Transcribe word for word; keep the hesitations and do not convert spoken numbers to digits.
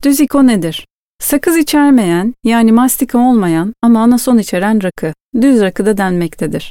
Düz iko nedir? Sakız içermeyen, yani mastika olmayan ama anason içeren rakı, düz rakı da denmektedir.